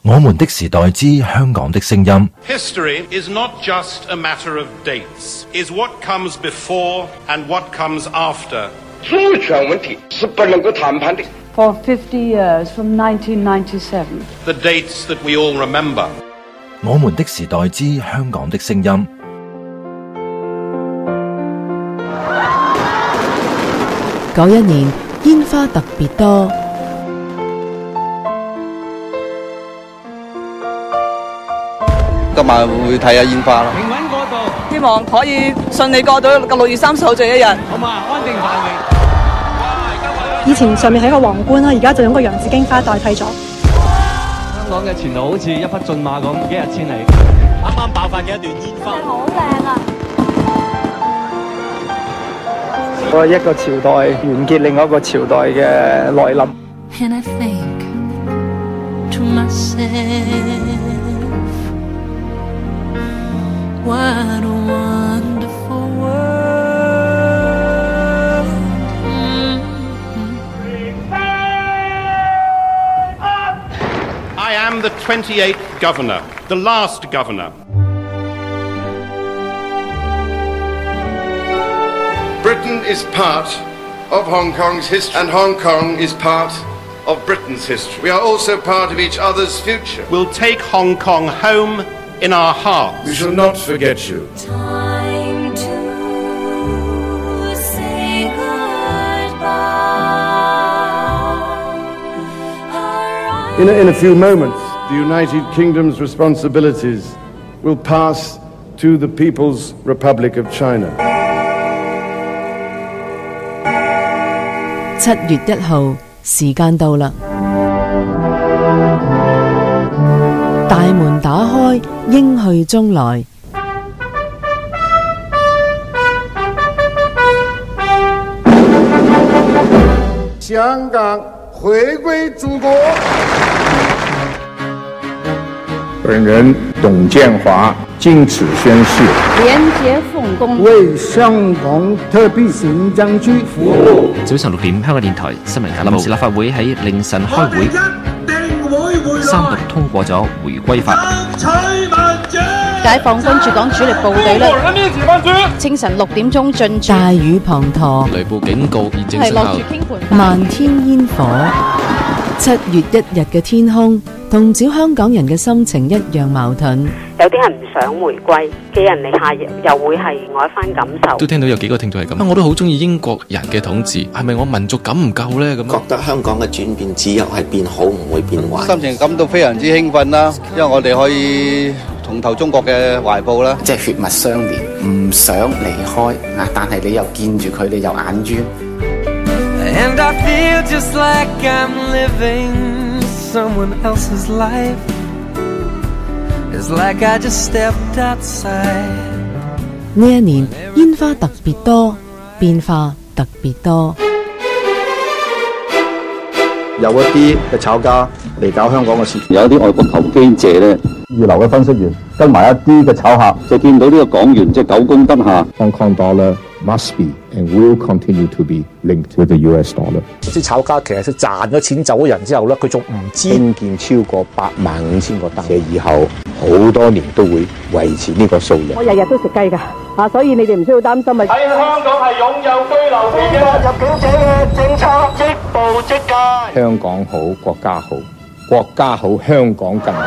我們的時代之香港的聲音。 History is not just a matter of dates, is what comes before and what comes after. 主权问题是不能够谈判的。 For 50 years, from 1997. The dates that we all remember. 我們的時代之香港的聲音。 91年煙花特別多。 今晚會睇下煙花啦。 平穩過渡， 希望可以順利過到6月30號這一日。 好嘛，安定繁榮。 以前上面係一個皇冠啦，而家就用個洋紫荊花代替咗。 香港嘅前途好似一匹駿馬咁，一日千里。啱啱爆發嘅一段煙花， 好靚啊！ 一個朝代完結，另外一個朝代嘅來臨。 And I think to myself, what a wonderful world. I am the 28th governor, the last governor. Britain is part of Hong Kong's history, and Hong Kong is part of Britain's history. We are also part of each other's future. We'll take Hong Kong home in our hearts. We shall not forget you. Time to say goodbye. In a few moments, the United Kingdom's responsibilities will pass to the People's Republic of China. 7月1號，時間到啦！大門打開，應去中來。 香港回归祖国。 本人董建华经此宣誓， 廉洁奉公， 為香港特別行政區服務。 早晨6點，香港電台新聞簡報。臨時立法會喺凌晨開會，三讀通過咗回歸法。 解放軍駐港主力部隊呢，清晨6點鐘進駐。 大雨滂沱， 雷暴警告現正生效。 漫天煙火。7月1日嘅天空，同照香港人嘅心情一樣矛盾。 有啲人唔想回歸，寄人籬下又會係我一番感受。 都聽到有幾個聽眾係咁，我都好中意英國人嘅統治，係咪我民族感唔夠呢？咁覺得香港嘅轉變只有係變好，唔會變壞。 心情感到非常之興奮啦，因為我哋可以重投中國嘅懷抱啦。 即係血脈相連，唔想離開啊！但係你又見住佢，你又眼冤。 And I feel just like I'm living someone else's life. It's like I just stepped outside. 呢一年煙花特別多，變化特別多。 有一啲嘅炒家嚟搞香港嘅事， 有一啲外國投機者咧，二流嘅分析員跟埋一啲嘅炒客，就見到呢個港元即係久攻不下。 Hong Kong dollar must be and will continue to be linked with the US dollar。 啲炒家其實佢賺咗錢走咗人之後咧，佢仲唔知興建超過85000個單位，以後好多年都會維持呢個數量。 我日日都食雞㗎，所以你哋唔需要擔心啊！ 喺香港係擁有居留權嘅入境者嘅政策即步即戒。 香港好，國家好，國家好，香港更好。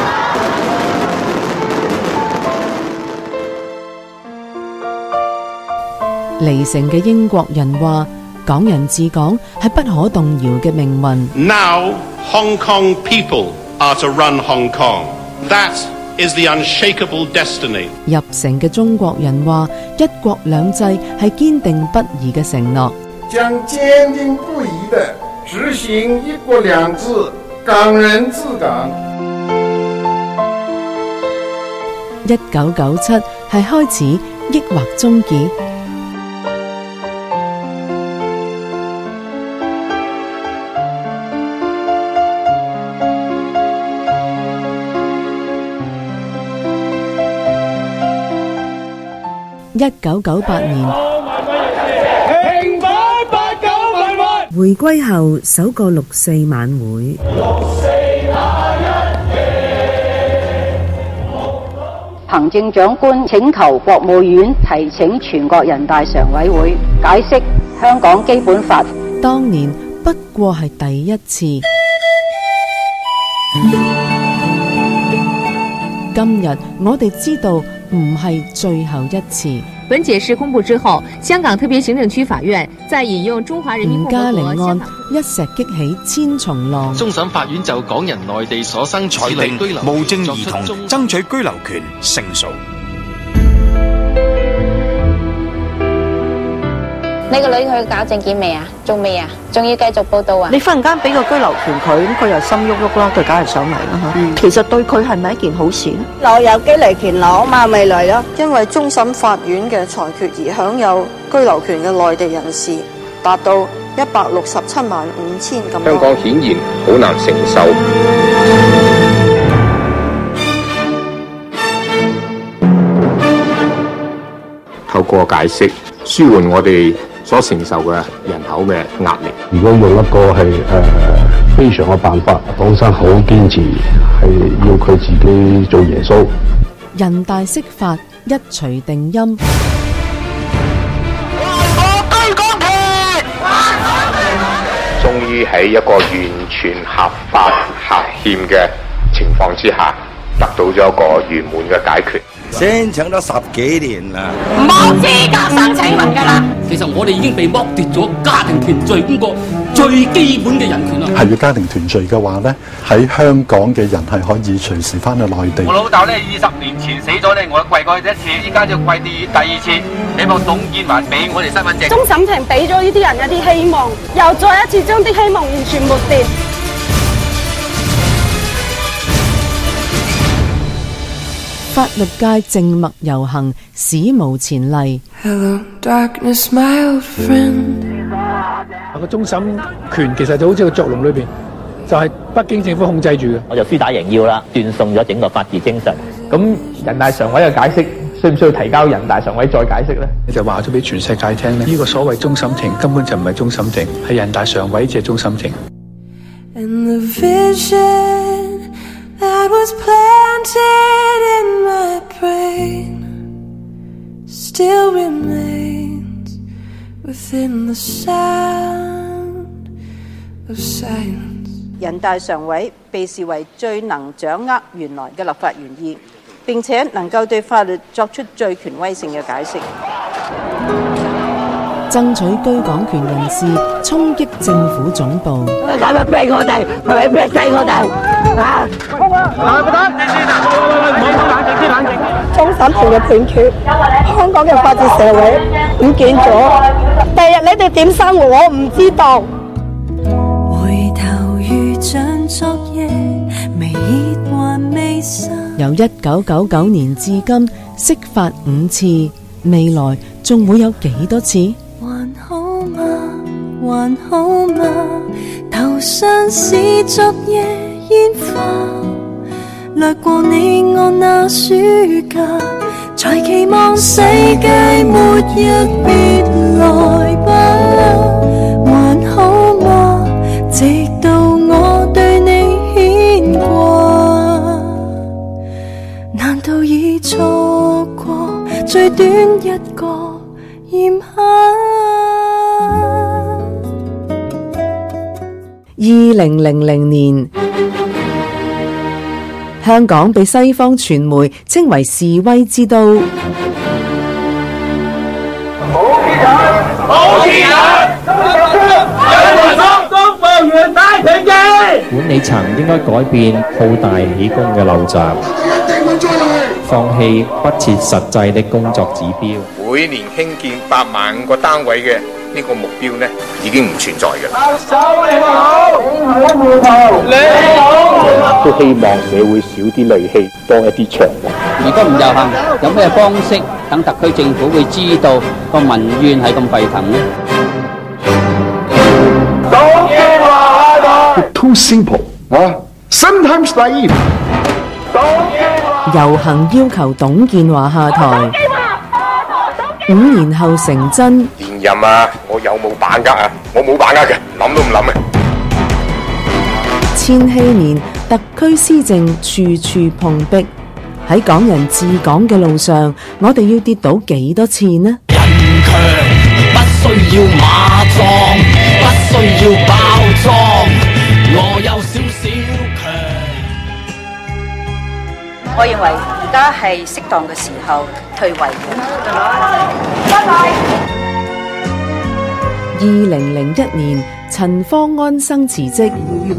離城嘅英國人話：港人治港係不可動搖嘅命運。 Now Hong Kong people are to run Hong Kong. That is the unshakable destiny. 入城嘅中國人話：一國兩制係堅定不移嘅承諾。 將堅定不移地執行一國兩制，港人治港。 1997係開始，抑或終結？1998年， 平反89民運。 回歸後首個6·4晚會。 6·4那一夜。 行政長官請求國務院提請全國人大常委會解釋香港基本法。 當年不過係第一次，今日我哋知道唔係最後一次。 本解釋公布之後，香港特別行政區法院在引用中華人民共和國吳嘉玲案一石激起千重浪。 終審法院就港人內地所生裁定無證兒童爭取居留權勝訴。 你個女去搞證件未啊？仲未啊？仲要繼續報到啊？ 你忽然間俾個居留權佢，咁佢又心喐喐啦，佢梗係上嚟啦。其實對佢係咪一件好事咧？ 我有居留權攞嘛，咪嚟咯。 因為終審法院嘅裁決而享有居留權嘅內地人士達到167萬5千咁多。 香港顯然好難承受。透過解釋，舒緩我哋所承受嘅人口嘅壓力。 如果用一個係非常嘅辦法，黨生好堅持係要佢自己做耶穌。 人大釋法一錘定音。 終於喺一個完全合法合憲嘅情況之下，得到咗一個圓滿嘅解決。 申請咗10幾年啦， 冇資格申請人㗎啦。 其實我哋已經被剝奪咗家庭團聚呢個最基本嘅人權啦。 係要家庭團聚嘅話咧，喺香港嘅人係可以隨時翻去內地。 我老豆咧20年前死咗咧，我跪過一次，依家就跪第二次，希望董建華俾我哋身份證。 終審庭俾咗呢啲人一啲希望，又再一次將啲希望完全抹掉。 法律界靜默遊行，史無前例。 Hello, darkness, my old friend。 個終審權其實就好似個作龍裏邊，就係北京政府控制住嘅。 我就輸打贏要啦，斷送咗整個法治精神。 咁人大常委嘅解釋，需唔需要提交人大常委再解釋咧？你就話咗俾全世界聽咧，呢個所謂終審庭根本就唔係終審庭，係人大常委即係終審庭。 And the vision that was planted in my brain still remains within the sound of silence。 人大常委被視為最能掌握原來嘅立法原意，並且能夠對法律作出最權威性嘅解釋。 爭取居港權人士衝擊政府總部。 係咪逼我哋？係咪逼死我哋？啊！ 終審庭嘅判決，香港嘅法治社會唔見咗。第日你哋點生活，我唔知道。 回頭如像昨夜，微熱還未散。 由1999年至今，釋法5次，未來仲會有幾多次？ 還好嗎？還好嗎？頭上是昨夜煙花，掠過你我那暑假，才期望世界末日別來吧。還好嗎？直到我對你牽掛，難道已錯過最短一個炎夏 ？2000年，香港被西方傳媒稱為示威之都。 冇錢人，冇錢人，中國原大團結。 管理層應該改變好大喜功嘅陋習，放棄不切實際的工作指標。 每年興建8萬個單位嘅呢個目標呢，已經唔存在嘅。 手你好，你好， 都希望社會少啲戾氣，多一啲祥和。 如果唔遊行，有咩方式等特區政府會知道個民怨係咁沸騰呢？ 董建華下台。 Too simple 啊 ，sometimes naive。 遊行要求董建華下台。5年後成真。 連任啊，我有冇把握啊？我冇把握嘅，諗都唔諗嘅。 千禧年特區施政處處碰壁。 喺港人治港嘅路上，我哋要跌倒幾多次呢？ 人強不需要馬壯，不需要包裝，我有少少強。 我認為而家係適當嘅時候退位。 2001年，陳方安生辭職。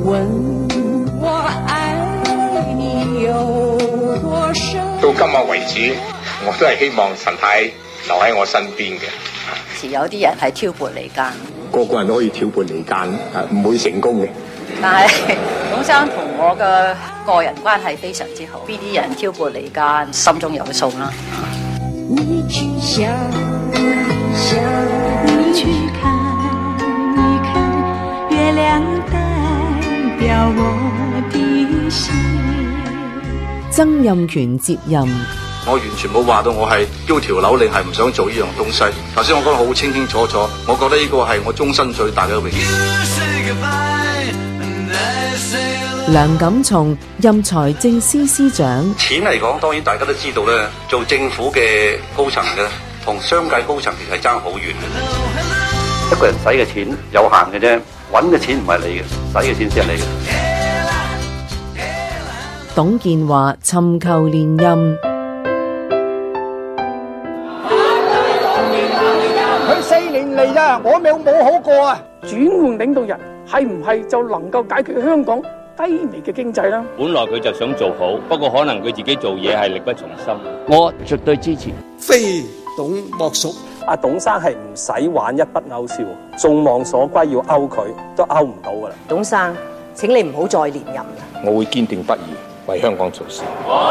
到今日為止，我都係希望陳太留喺我身邊嘅。 有啲人係挑撥離間， 個個人都可以挑撥離間，唔會成功嘅。 但係董生同我嘅個人關係非常之好，邊啲人挑撥離間，心中有數啦。 你去想想，你去看一看，月亮代表我的心。 曾蔭權接任。 我完全冇話到我係丟條紐令係唔想做呢樣東西。頭先我講得好清清楚楚，我覺得呢個係我終身最大嘅榮譽。 梁錦松任財政司司長。 錢嚟講，當然大家都知道咧，做政府嘅高層嘅同商界高層其實係爭好遠嘅。一個人使嘅錢有限嘅啫，揾嘅錢唔係你嘅，使嘅錢先係你嘅。 董建華尋求連任。 佢4年嚟咋，我冇好過啊！轉換領導人係唔係就能夠解決香港低微嘅經濟啦？ 本來佢就想做好，不過可能佢自己做嘢係力不從心。 我絕對支持， 非董莫屬。 阿董生係唔使玩一筆勾銷，眾望所歸要勾佢都勾唔到噶啦。 董生，請你唔好再連任啦。 我會堅定不移為香港做事。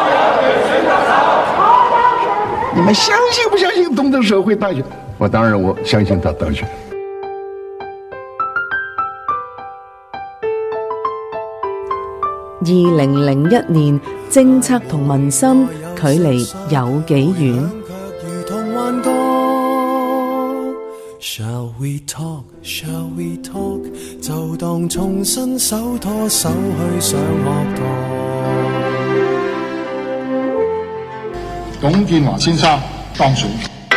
你們相信不相信董德生會當選？我當然我相信他當選。 2001年，政策同民生距離有幾遠 ？Shall we talk? Shall we talk? 就當重新手拖手去上學堂。 董建華先生當選。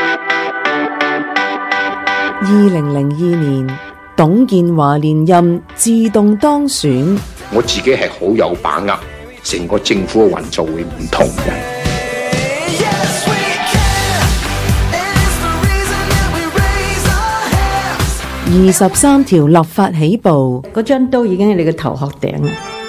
2002年，董建華連任，自動當選。 我自己係好有把握，成個政府嘅運作會唔同嘅。 23條立法起步， 嗰張刀已經喺你嘅頭殼頂啦。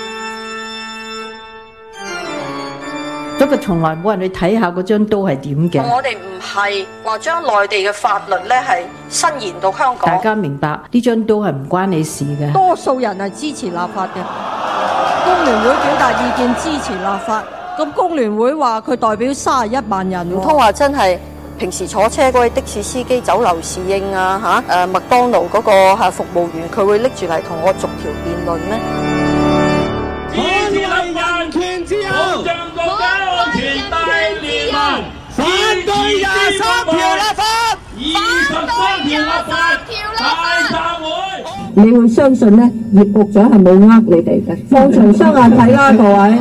不過從來冇人去睇下嗰張刀係點嘅。 我哋唔係話將內地嘅法律咧係伸延到香港。 大家明白呢張刀係唔關你事嘅。 多數人係支持立法嘅，工聯會表達意見支持立法，咁工聯會話佢代表31萬人， 唔通話真係平時坐車嗰位的士司機酒樓侍應啊麥當勞嗰個服務員，佢會拎住嚟同我逐條辯論咩？ 捍衛人權之後，保障國家安全大聯盟，反對23條立法，23條立法大集會。 你會相信呢？葉局長係冇呃你哋嘅，放長雙眼睇啦，各位。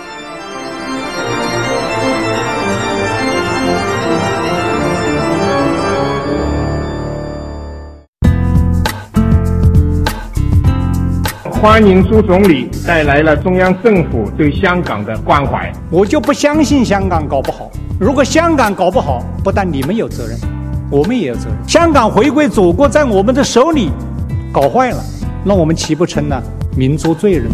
歡迎蘇總理帶來了中央政府對香港的關懷。 我就不相信香港搞不好。如果香港搞不好，不但你們有責任，我們也有責任。香港回歸祖國在我們的手裏搞壞了，那我們豈不成了民族罪人？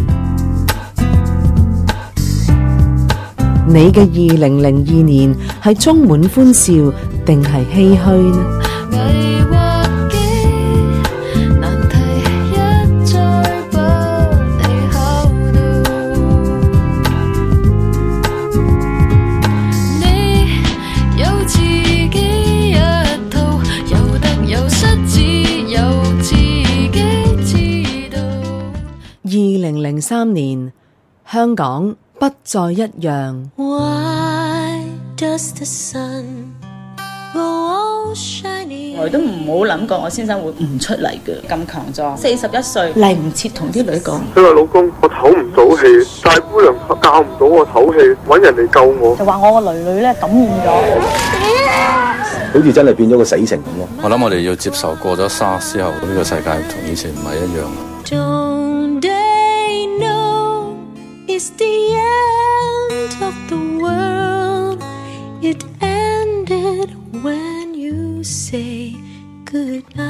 你嘅2002年係充滿歡笑定係唏噓呢？2003年，香港不再一樣。 Why does the sun go 我都唔好諗過我先生會唔出嚟嘅，咁強壯，41歲嚟唔切同啲女講。 佢話老公，我唞唔到氣，大姑娘教唔到我唞氣，揾人嚟救我。 就話我個女咧感染咗， 好似真係變咗個死城咁咯。我諗我哋要接受過咗SARS之後，呢個世界同以前唔係一樣。 Don't they know it's the end of the world? It ended when you say goodbye.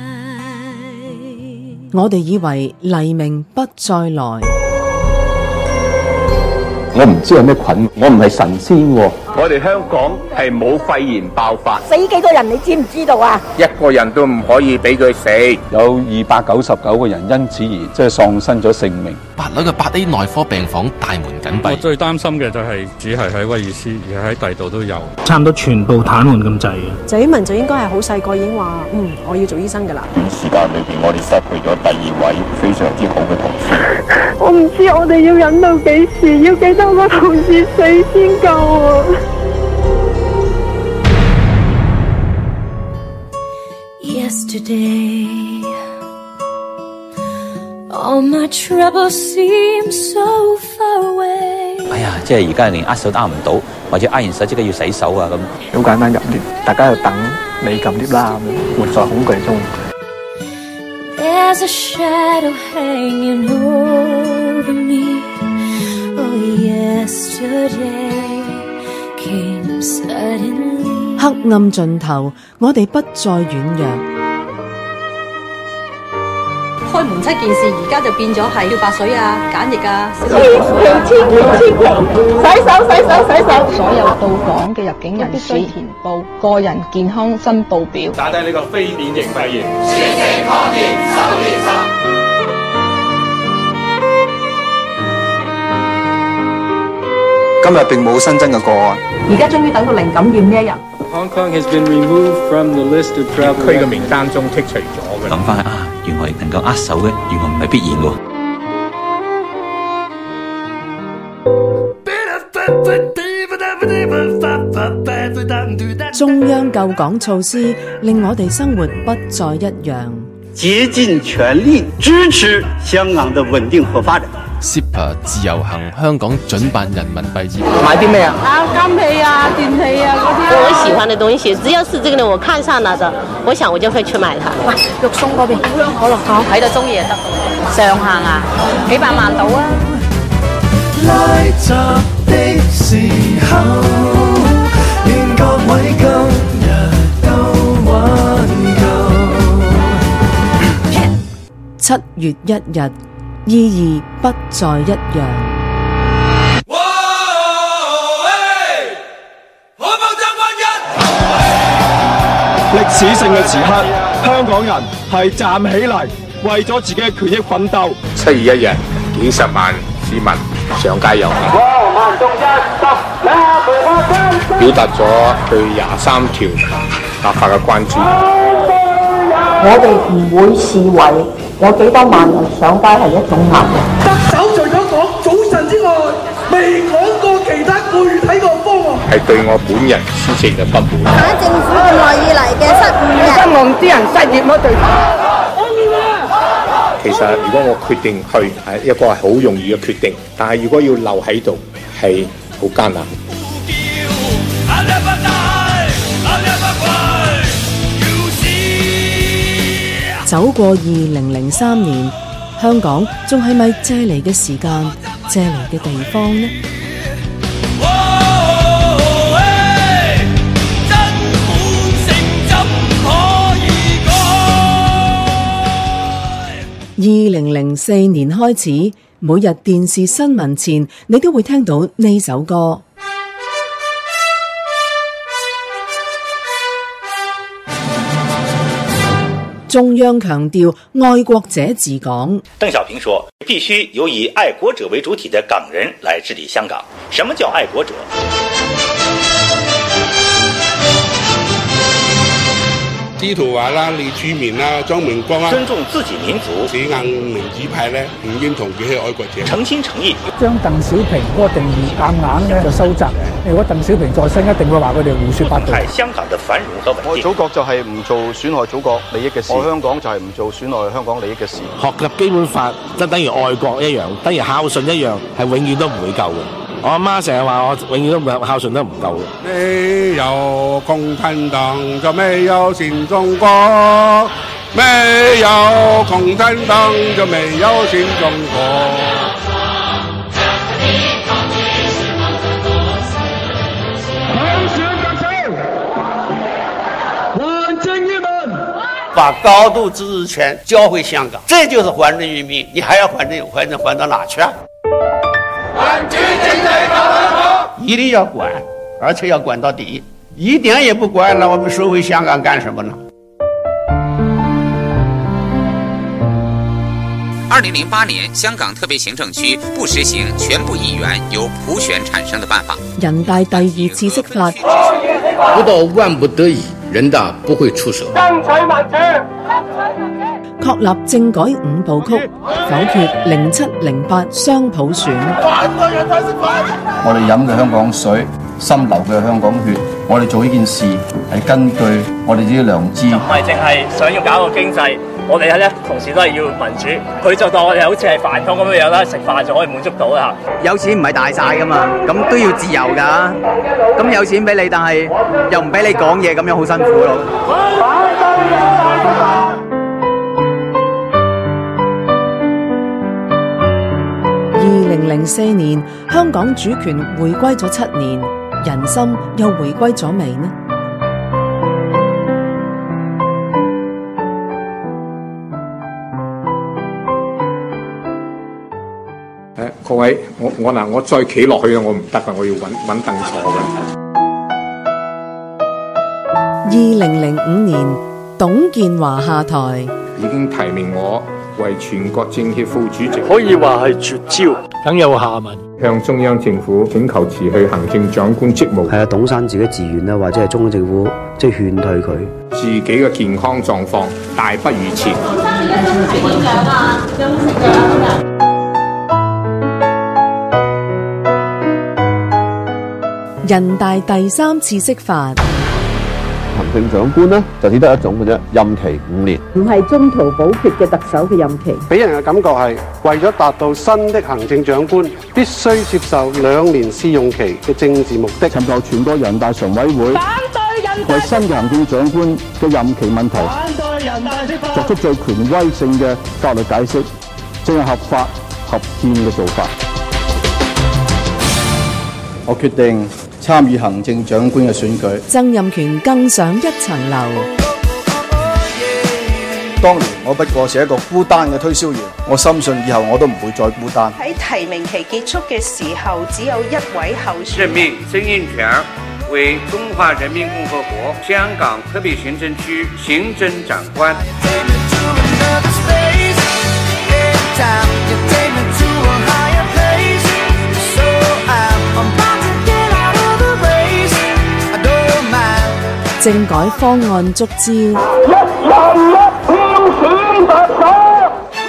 我哋以為黎明不再來。 我唔知有咩菌，我唔係神仙喎。 我哋香港係冇肺炎爆發， 死幾多人你知唔知道啊？ 一個人都唔可以俾佢死， 有299個人因此而即係喪生咗性命。 8樓嘅8A 內科病房大門緊閉。 我最擔心嘅就係只係喺威爾斯，而喺第度都有， 差唔多全部癱瘓咁滯嘅。 鄭婉文就應該係好細個已經話，我要做醫生㗎啦。 短時間裏邊，我哋失去咗第2位非常之好嘅同事。 我唔知我哋要忍到幾時，要幾多個同事死先夠啊！ Yesterday, all my troubles seem so far away. 哎呀，即係而家連握手都握唔到，或者握完手即刻要洗手啊咁。 好簡單入 lift， 大家就等你撳 lift 啦，活在恐懼中。 There's a shadow hanging over me. Oh, yesterday came suddenly. 黑暗盡頭，我哋不再軟弱。 開門7件事，而家就變咗係漂白水啊、梘液啊。 千祈洗手。 所有到港嘅入境人士填報個人健康申報表， 打低呢個非典型肺炎。 全城抗疫守年10。 今日並冇新增嘅個案。 而家終於等到零感染呢一日。 Hong Kong has been removed from the list of travel。區嘅名單中剔除咗嘅。 諗翻啊，原來能夠握手嘅，原來唔係必然喎。 中央救港措施令我哋生活不再一樣。 竭盡全力支持香港的穩定和發展。 CEPA 自由行香港準辦人民幣業買啲咩啊？金器啊、電器啊嗰啲。 我喜歡的東西，只要是這個呢，我看上了的，我想我就會去買它。 肉鬆嗰邊，可樂口睇到中意就得。上限啊，幾百萬到啊！ 拉閘的時候，願各位今日都挽救。 7月1日，意義不再一樣。 歷史性嘅時刻，香港人係站起嚟，為咗自己嘅權益奮鬥。 7月1日，幾十萬市民上街遊行，表達咗對23條立法嘅關注。 我哋唔會視為有幾多萬人上街係一種壓力。 特首除咗講早晨之外，未講過其他具體個方案。 係對我本人施政嘅不滿。 打政府咁耐以嚟嘅失誤嘅， 希望啲人失業咯，對。 其實如果我決定去，係一個係好容易嘅決定，但係如果要留喺度，係好艱難。 走過2003年，香港仲係咪借嚟嘅時間、借嚟嘅地方呢？2004年開始，每日電視新聞前，你都會聽到呢首歌。中央強調愛國者治港。 鄧小平說，必須由以愛國者為主體的港人來治理香港。什麼叫愛國者？ 司徒華啦、李柱銘啦、張明光啦， 尊重自己民族。 死硬民主派咧，唔認同佢係愛國者。 誠心誠意， 將鄧小平嗰個定義硬就收窄。 如果鄧小平在生，一定會話佢哋胡說八道。 害香港的繁榮和穩定。 愛祖國就係唔做損害祖國利益嘅事，愛香港就係唔做損害香港利益嘅事。 學習基本法就等於愛國一樣，等於孝順一樣，係永遠都唔會夠嘅。我阿媽成日話我永遠都孝順得唔夠嘅。 沒有共產黨就沒有新中國，沒有共產黨就沒有新中國。 把高度自治權交回香港，這就是還人於民。你還要還到哪去啊？一定要管，而且要管到底，一點也不管，那我們收回香港幹什麼呢 ？2008年，香港特別行政區不實行全部議員由普選產生的辦法。 人大第二次釋法， 不到萬不得已，人大不會出手。 爭取民主， 確立政改5部曲，否決07、08雙普選。 我哋飲嘅香港水，心流嘅香港血，我哋做呢件事係根據我哋自己良知， 唔係淨係想要搞個經濟。我哋咧同時都係要民主，佢就當我哋好似係飯桶咁樣啦，食飯就可以滿足到啦。 有錢唔係大晒噶嘛，咁都要自由噶。咁有錢俾你，但係又唔俾你講嘢，咁樣好辛苦咯。 2004年，香港主權回歸咗7年，人心又回歸咗未呢？ 各位，我再企落去我唔得噶，我要揾凳坐嘅。 2005年，董建華下台， 已經提名我為全國政協副主席， 可以話係絕招， 梗有下文。 向中央政府請求辭去行政長官職務。 係啊，董生自己自願啦，或者係中央政府即係勸退佢。 自己嘅健康狀況大不如前。 董生，你今日睇點樣啊？有冇食藥啊？今日？ 人大第3次釋法， 行政長官呢就只得一種嘅啫，任期5年， 唔係中途補缺嘅特首嘅任期。 俾人嘅感覺係為咗達到新的行政長官必須接受2年試用期嘅政治目的， 尋求全國人大常委會反對人大為新嘅行政長官嘅任期問題反對人大釋法作出最權威性嘅法律解釋，正係合法合憲嘅做法。我決定參與行政長官嘅選舉， 曾蔭權更上一層樓。 當年我不過是一個孤單嘅推銷員，我深信以後我都唔會再孤單。 喺提名期結束嘅時候，只有一位候選人。 任命曾蔭權為中華人民共和國香港特別行政區行政長官。 政改方案觸礁， 一人一票選特首。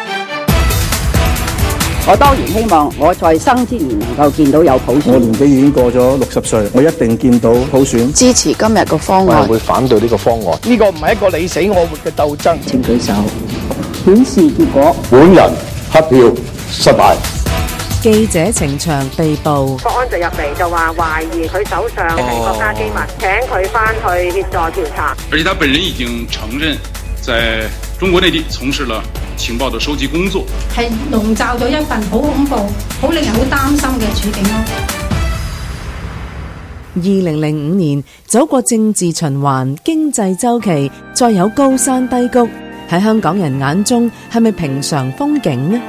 我當然希望我在生之年能夠見到有普選。 我年紀已經過咗60歲，我一定見到普選。 支持今日嘅方案。 我會反對呢個方案。 呢個唔係一個你死我活嘅鬥爭。 請舉手。顯示結果。 本人黑票失敗。 記者程翔被捕， 國安就入嚟就話懷疑佢手上係國家機密，請佢翻去協助調查。 而且他本人已經承認，在中國內地從事了情報的收集工作， 係籠罩咗一份好恐怖、好令人好擔心嘅處境咯。 2005年走過政治循環、經濟週期，再有高山低谷，喺香港人眼中係咪平常風景呢？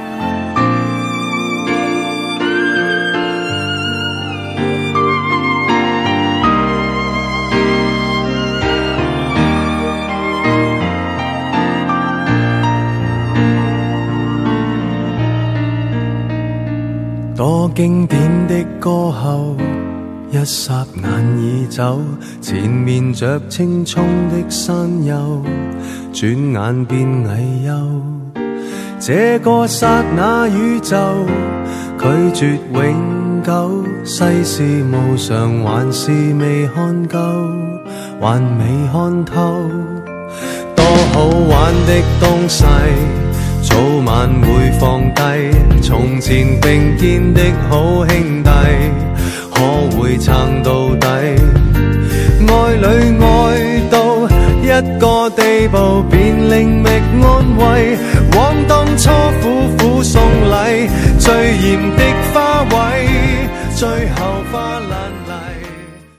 多經典的歌後，一霎眼已走，前面着青蔥的山丘，轉眼變危憂。這個剎那宇宙，拒絕永久，世事無常，還是未看夠，還未看透。多好玩的東西，早晚會放低。從前並肩的好兄弟，可會撐到底？愛侶愛到一個地步，便另覓安慰。往當初苦苦送禮，最豔的花卉，最後花